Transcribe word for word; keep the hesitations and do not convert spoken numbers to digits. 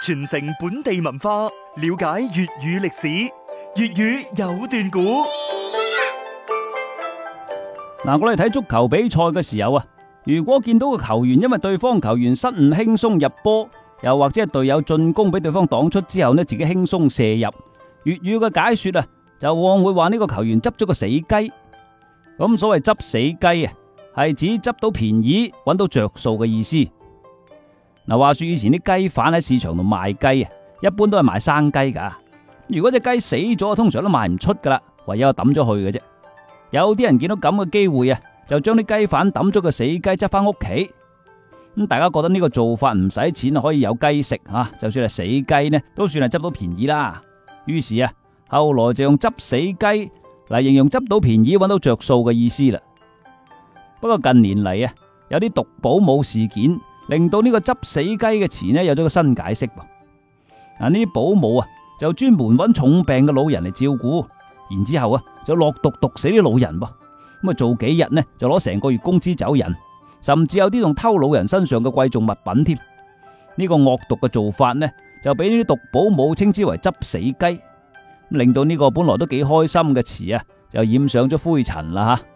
傳承本地文化，了解粵語歷史。粵語有段古。 嗱，我哋睇足球比賽嘅時候啊，如果見到個球員因為對方球員失誤輕鬆入波，又或者係隊友進攻俾對方擋出之後呢，自己輕鬆射入，粵語嘅解說啊，就往往會話呢個球員執咗個死雞。咁所謂執死雞啊，係指執到便宜，揾到着數嘅意思。嗱，話說以前啲雞販喺市場度賣雞啊，一般都係賣生雞噶。如果隻雞死咗，通常都賣唔出噶啦，唯有抌咗去嘅啫。有啲人見到咁嘅機會啊，就將啲雞販抌咗個死雞執翻屋企。咁大家覺得呢個做法唔使錢，可以有雞食吓，就算係死雞呢，都算係執到便宜啦。於是啊，後來就用執死雞嚟形容執到便宜、揾到着數嘅意思啦。不過近年嚟啊，有啲毒保姆事件，令到呢個執死雞嘅詞呢有咗個新解釋噃。嗱，呢啲保姆啊就專門揾重病嘅老人嚟照顧，然之後啊就落毒毒死啲老人噃。咁啊做幾日呢就攞成個月工資走人，甚至有啲仲偷老人身上嘅貴重物品添。呢個惡毒嘅做法呢就俾呢啲毒保姆稱之為執死雞，令到呢個本來都幾開心嘅詞啊就染上咗灰塵啦吓。